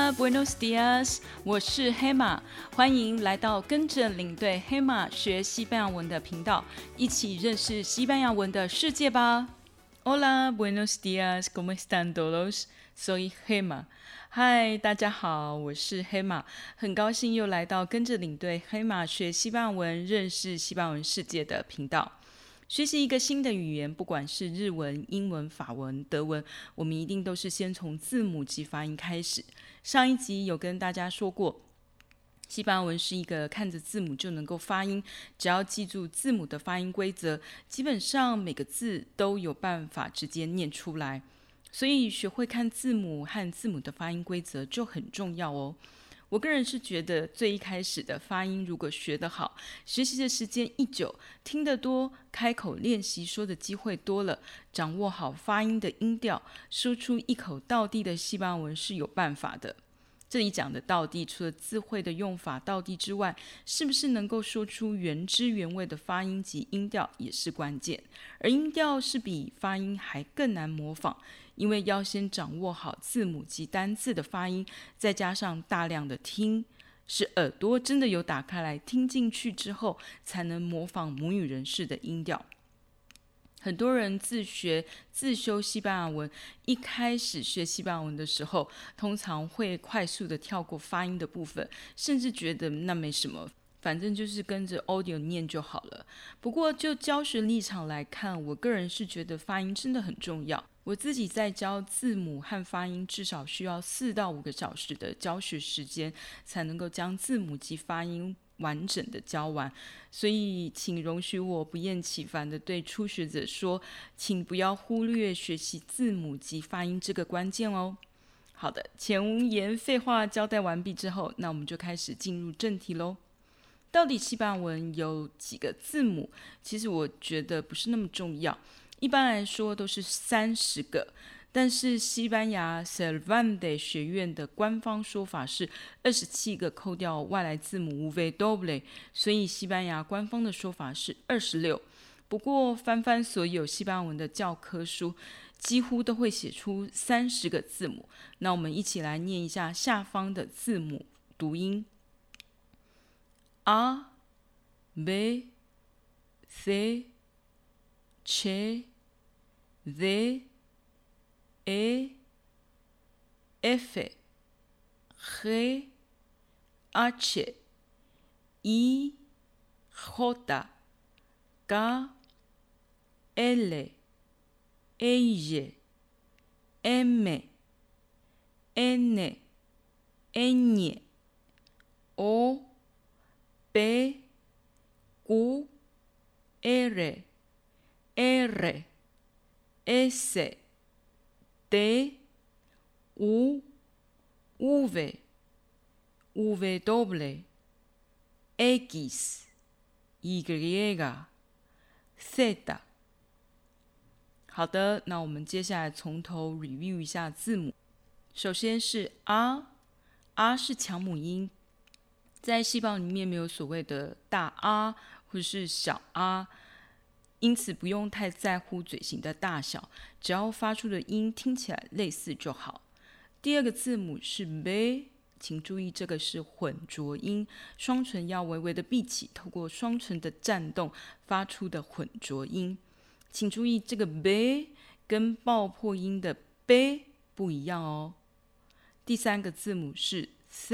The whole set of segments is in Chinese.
Hola, buenos días， 我是黑馬，歡迎來到跟着領隊黑馬學西班牙文的頻道，一起認識西班牙文的世界吧。Hola, buenos días, ¿cómo están todos? Soy Gema。嗨，大家好，我是黑馬，很高興又來到跟着領隊黑馬學西班牙文、認識西班牙文世界的頻道。學習一個新的語言，不管是日文、英文、法文、德文，我們一定都是先從字母及發音開始。上一集有跟大家說過，西班牙文是一個看着字母就能夠發音，只要記住字母的發音規則，基本上每個字都有辦法直接念出來。所以學會看字母和字母的發音規則就很重要哦。我個人是覺得，最一開始的發音如果學得好，學習的時間一久，聽得多，開口練習說的機會多了，掌握好發音的音調，說出一口道地的西班牙文是有辦法的。這裡講的道地，除了詞彙的用法道地之外，是不是能夠說出原汁原味的發音及音調也是關鍵。而音調是比發音還更難模仿，因為要先掌握好字母及單字的發音，再加上大量的聽，使耳朵真的有打開來聽進去之後，才能模仿母語人士的音調。很多人自修西班牙文，一開始學西班牙文的時候，通常會快速的跳過發音的部分，甚至覺得那沒什麼，反正就是跟着 audio 念就好了。不過就教學立場來看，我個人是覺得發音真的很重要。我自己在教字母和發音，至少需要4到5個小時的教學時間，才能夠將字母及發音完整的教完。所以請容許我不厭其煩的對初學者說，請不要忽略學習字母及發音這個關鍵哦。好的，前言廢話交代完畢之後，那我們就開始進入正題嘍。到底西班牙文有幾個字母？其實我覺得不是那麼重要，一般來說都是30個。但是西班牙 Cervantes 學院的官方說法是27個，扣掉外來字母 W， 所以西班牙官方的說法是26。不過翻翻所有西班牙文的教科書，幾乎都會寫出30個字母。那我們一起來念一下下方的字母讀音 A B C C D E F G H I J K L M N O P Q R S T U V W X Y Z。 好的，那我們接下來從頭 review 一下字母。首先是 R 是強母音，在西班牙裡面沒有所謂的大 R 或是小 R， 因此不用太在乎嘴型的大小，只要發出的音聽起來類似就好。第二個字母是 B， 請注意這個是混濁音，雙唇要微微的閉起，透過雙唇的顫動發出的混濁音。請注意這個 B 跟爆破音的 B 不一樣哦。第三個字母是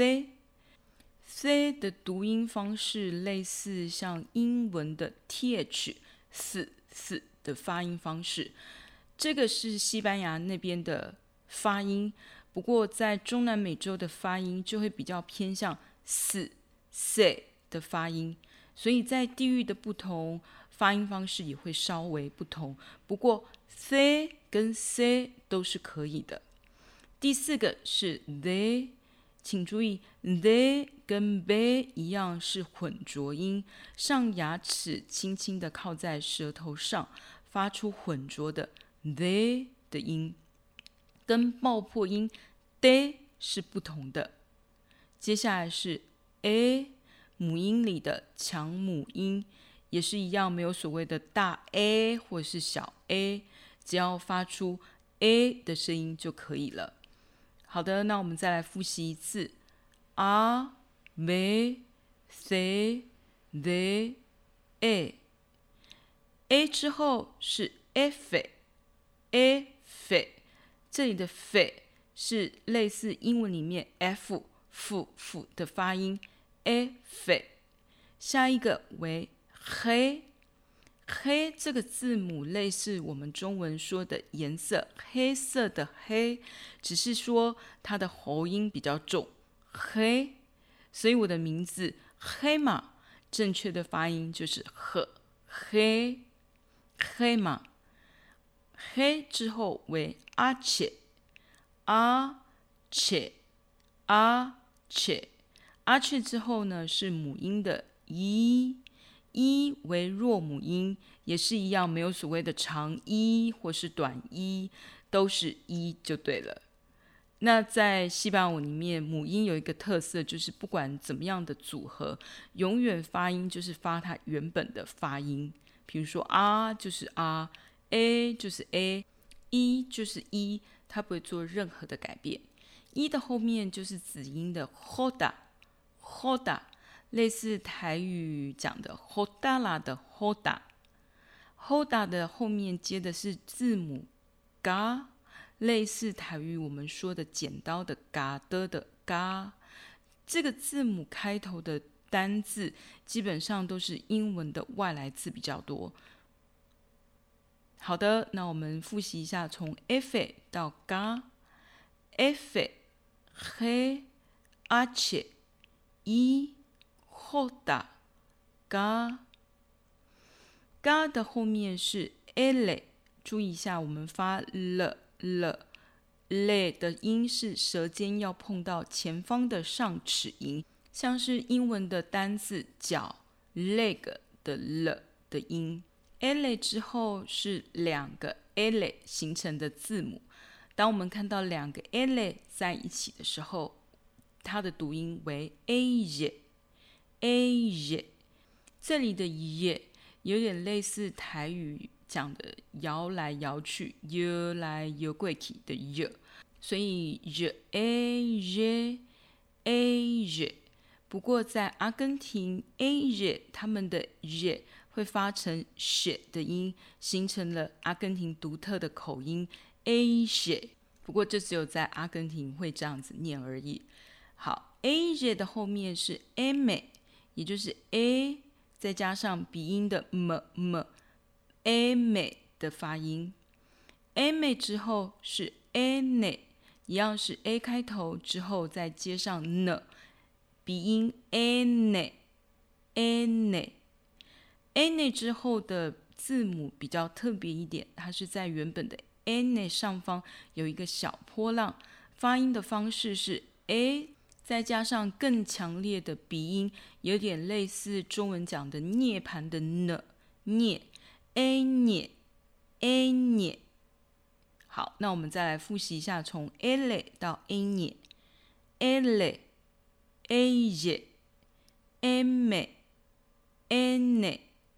C 的讀音方式類似像英文的 th 4的發音方式，這個是西班牙那邊的發音，不過在中南美洲的發音就會比較偏向 c 的發音，所以在地域的不同，發音方式也會稍微不同，不過 C 跟 C 都是可以的。第四個是 D， 請注意 D 跟 B 一樣是混濁音，上牙齒輕輕的靠在舌頭上，發出混濁的 D 的音，跟爆破音 D 是不同的。接下來是 A， 母音裡的強母音，也是一樣，沒有所謂的大 A 或是小 a， 只要發出 A 的聲音就可以了。 好的，那我們再來複習一次 a b c d e a 之後是 f， 這裡的 f 是類似英文裡面 f 的發音 f。 下一個為黑這個字母類似我們中文說的顏色，黑色的黑，只是說它的喉音比較重，黑，所以我的名字黑馬正確的發音就是黑馬。黑之後為阿切之後呢是母音的一為弱母音，也是一樣，沒有所謂的長一或是短一，都是一就對了。那在西班牙文裡面，母音有一個特色，就是不管怎麼樣的組合，永遠發音就是發它原本的發音。比如說啊就是啊，a 就是 a， 一就是一，它不會做任何的改變。一的後面就是子音的 hoda， 類似台語講的 hodala 的 hoda 的後面接的是字母 ga， 類似台語我們說的剪刀的 ga 的 ga。 這個字母開頭的單字基本上都是英文的外來字比較多。好的，那我們複習一下，從 f 到 ga，f he h i hoda ga， ga 的後面是 l， 注意一下，我們發了的音是舌尖要碰到前方的上齒齦，像是英文的單字腳 leg 的了的音。l 之後是兩個 l 形成的字母，當我們看到兩個 l 在一起的時候，它的讀音為 a， 這裡的也有點類似台語講的搖來搖去、搖來搖過去的搖，所以a。不過在阿根廷 a 他們的也會發成血的音，形成了阿根廷獨特的口音 a 血。不過這只有在阿根廷會這樣子念而已。好 a 的後面是 m， 也就是 a 再加上鼻音的 m m 的發音。m 之後是 n， 一樣是 a 開頭之後再接上 n， 鼻音 n之後的字母比較特別一點，它是在原本的 n 上方有一個小波浪，發音的方式是 a 再加上更強烈的鼻音，有點類似中文講的涅槃的呢，涅 a 涅。好，那我們再來複習一下，從 l 到 a 涅 l a m n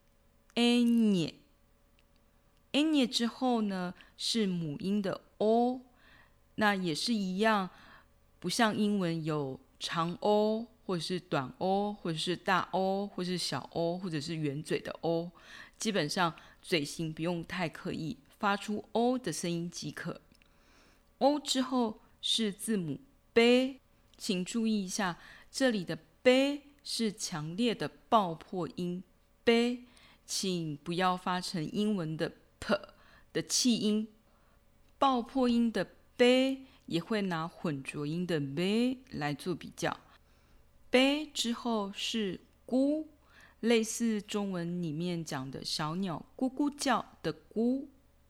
n 之後呢是母音的 o， 那也是一样，不像英文有長 o 或者是短 o 或者是大 o 或者是小 o 或者是圓嘴的 o， 基本上嘴型不用太刻意，發出 o 的聲音即可。o 之後是字母 b， 請注意一下，這裡的 b 是強烈的爆破音 b， 請不要發成英文的 p 的氣音。爆破音的 b 也會拿混濁音的 b 來做比較。b 之後是咕，類似中文裡面講的小鳥咕咕叫的咕。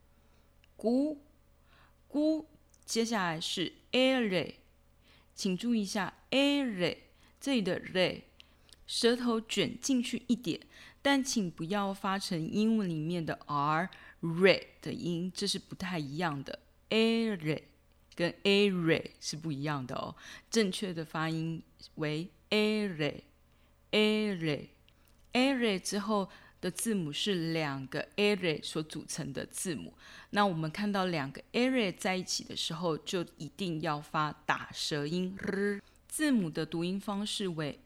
接下來是 r， 請注意一下 r， 這裡的 r 舌頭捲進去一點，但請不要發成英文裡面的 r 的音，這是不太一樣的。r 跟 a 是不一樣的哦，正確的發音為 r。之後的字母是2個 ere 所組成的字母。那我們看到2個 ere 在一起的時候，就一定要發打舌音 r。字母的讀音方式為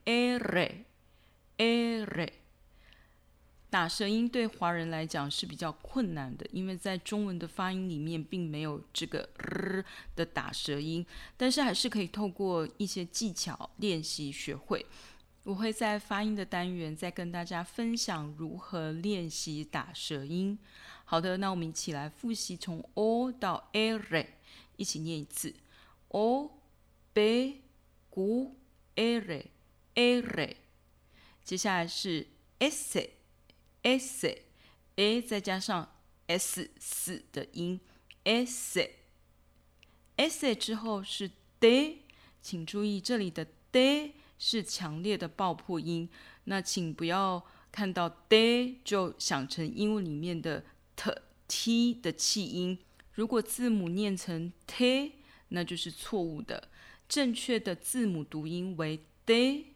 ere。打舌音對華人來講是比較困難的，因為在中文的發音裡面並沒有這個 r 的打舌音，但是還是可以透過一些技巧練習學會。我會在發音的單元再跟大家分享如何練習打舌音。好的，那我們一起來複習從 o 到 ere， 一起念一次 o b q ere ere。接下來是 s a 再加上 s 的音 s 之後是 d， 請注意這裡的 d 是強烈的爆破音，那請不要看到 d 就想成英文裡面的 t 的氣音。如果字母念成 t， 那就是錯誤的，正確的字母讀音為 d。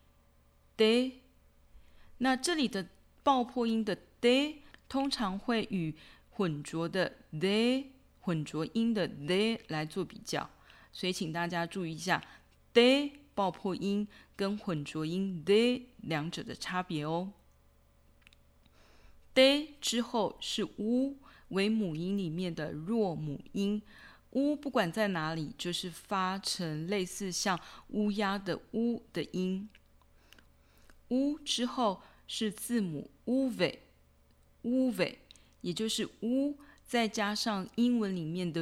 那這裡的爆破音的 d 通常會與混濁的 d 混濁音的 d 來做比較，所以請大家注意一下 d 爆破音跟混濁音 d 兩者的差別哦。d 之後是 u， 為母音裡面的弱母音。u 不管在哪裡，就是發成類似像烏鴉的烏的音。u 之後是字母 uve， 也就是 u 再加上英文裡面的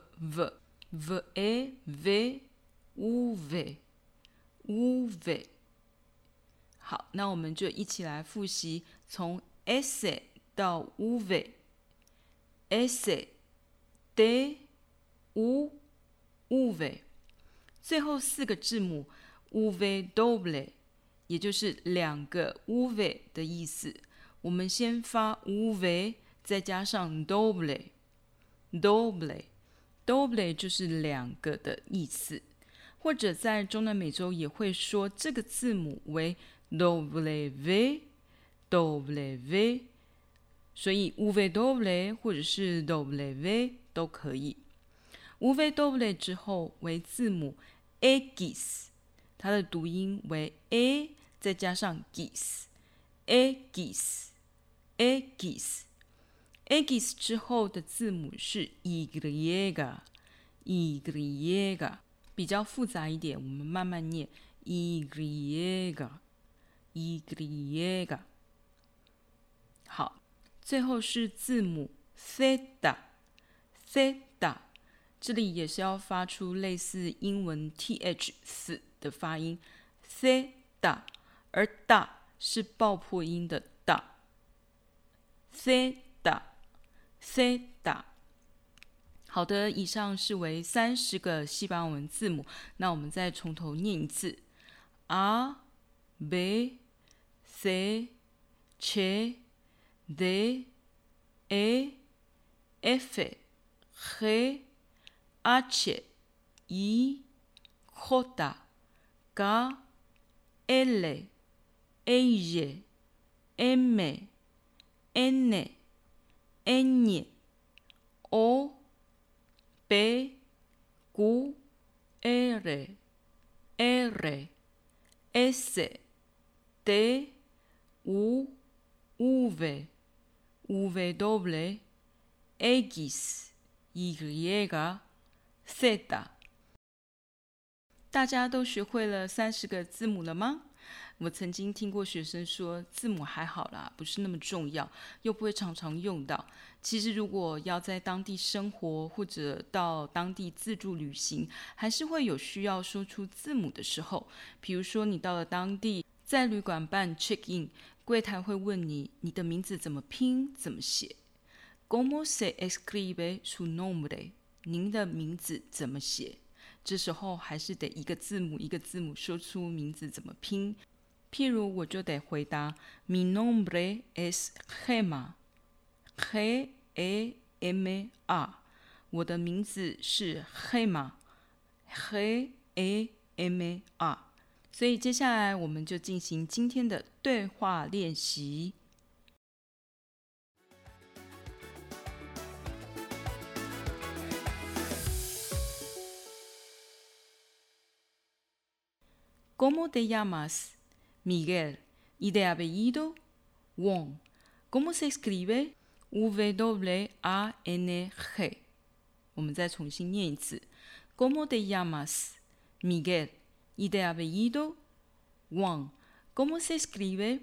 v。好，那我們就一起來複習，從 s 到 uve，s d u uve， 最後4個字母 uve doble， 也就是2個 uve 的意思。我們先發 uve， 再加上 doble， 就是2個的意思。或者在中南美洲也會說這個字母為 w， 所以 uve doble 或者是 w 都可以。uve doble 之後為字母 x， 它的讀音為 a 再加上 x，x 之後的字母是 y， 比較複雜一點，我們慢慢念 y。好，最後是字母 theta， 這裡也是要發出類似英文 th 的發音 theta， 而 da 是爆破音的 da，theta。好的，以上是為30個西班牙文字母，那我們再從頭念一次 a b c c d e f g h i j k l m n o p q r s t u v w x y z。大家都學會了30個字母了嗎？我曾經聽過學生說，字母還好啦，不是那麼重要，又不會常常用到。其實如果要在當地生活或者到當地自助旅行，還是會有需要說出字母的時候。比如說你到了當地，在旅館辦 check in， 櫃檯會問你，你的名字怎麼拼怎麼寫。¿Cómo se escribe su nombre？ 您的名字怎麼寫？這時候還是得一個字母一個字母說出名字怎麼拼。譬如我就得回答 Mi nombre es Gemma， G-E-M-A， 我的名字是 Gemma， G-E-M-A。 所以接下來我們就進行今天的對話練習。 ¿Cómo te llamas? Miguel. ¿Y de apellido? Wang. ¿Cómo se escribe? W-A-N-G。 我們再重新念一次。¿Cómo te llamas? Miguel. ¿Y de apellido? Wang. ¿Cómo se escribe?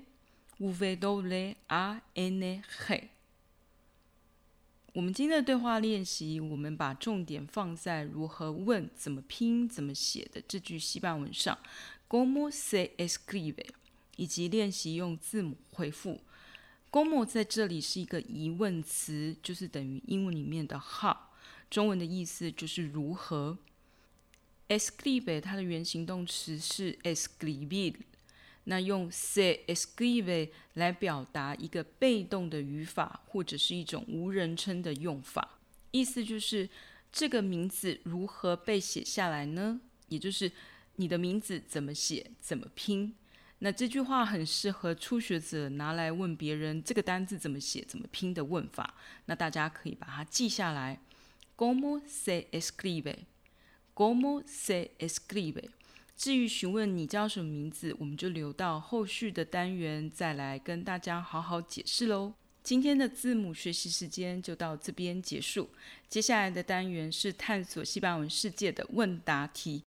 W-A-N-G。 我們今天的對話練習，我們把重點放在如何問、怎麼拼、怎麼寫的這句西班牙文上。¿Cómo se escribe？ 以及練習用字母回復。¿Cómo 在這裡是一個疑問詞，就是等於英文裡面的 how， 中文的意思就是如何。Escribe 它的原形動詞是 escribir， 那用 se escribe 來表達一個被動的語法，或者是一種無人稱的用法，意思就是這個名字如何被寫下來呢？也就是你的名字怎麼寫、怎麼拼。那這句話很適合初學者拿來問別人這個單字怎麼寫、怎麼拼的問法。那大家可以把它記下來。¿Cómo se escribe？¿Cómo se escribe？ 至於詢問你叫什麼名字，我們就留到後續的單元再來跟大家好好解釋嘍。今天的字母學習時間就到這邊結束。接下來的單元是探索西班牙文世界的問答題。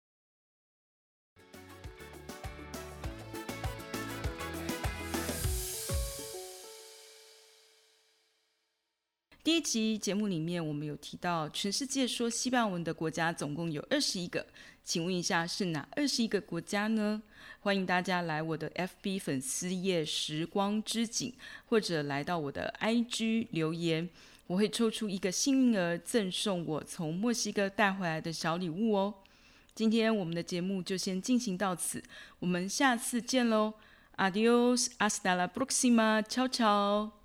第一集節目裡面，我們有提到全世界說西班牙文的國家總共有21個，請問一下是哪21個國家呢？歡迎大家來我的 FB 粉絲頁時光之景，或者來到我的 IG 留言，我會抽出一個幸運兒贈送我從墨西哥帶回來的小禮物哦。今天我們的節目就先進行到此，我們下次見嘍 ！Adiós，hasta la próxima， ciao ciao。